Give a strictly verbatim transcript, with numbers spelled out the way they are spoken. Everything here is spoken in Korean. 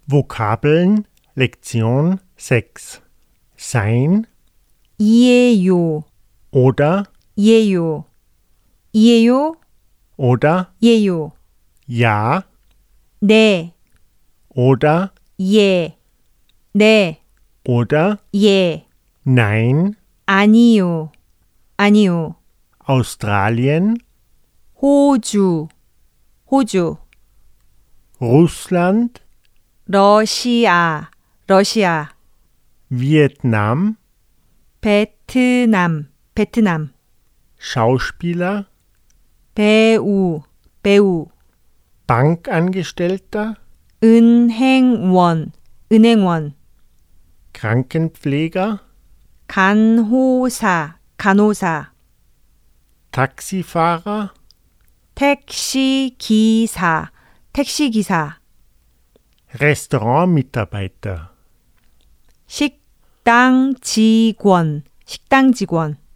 Vokabeln Lektion sechs. Sein 이에요, oder 예요, 이에요, oder 예요, ja 네, oder 예, 네, oder 예, nein. 아니요, 아니요, Australien, 호주, 호주, Russland, 러시아, 러시아, Vietnam, 베트남, 베트남, Schauspieler, 배우, 배우, Bankangestellter, 은행원, 은행원, Krankenpfleger, 간호사, 간호사, Taxifahrer, 택시 기사, 택시 기사, Restaurantmitarbeiter. 식당 직원, 식당 직원.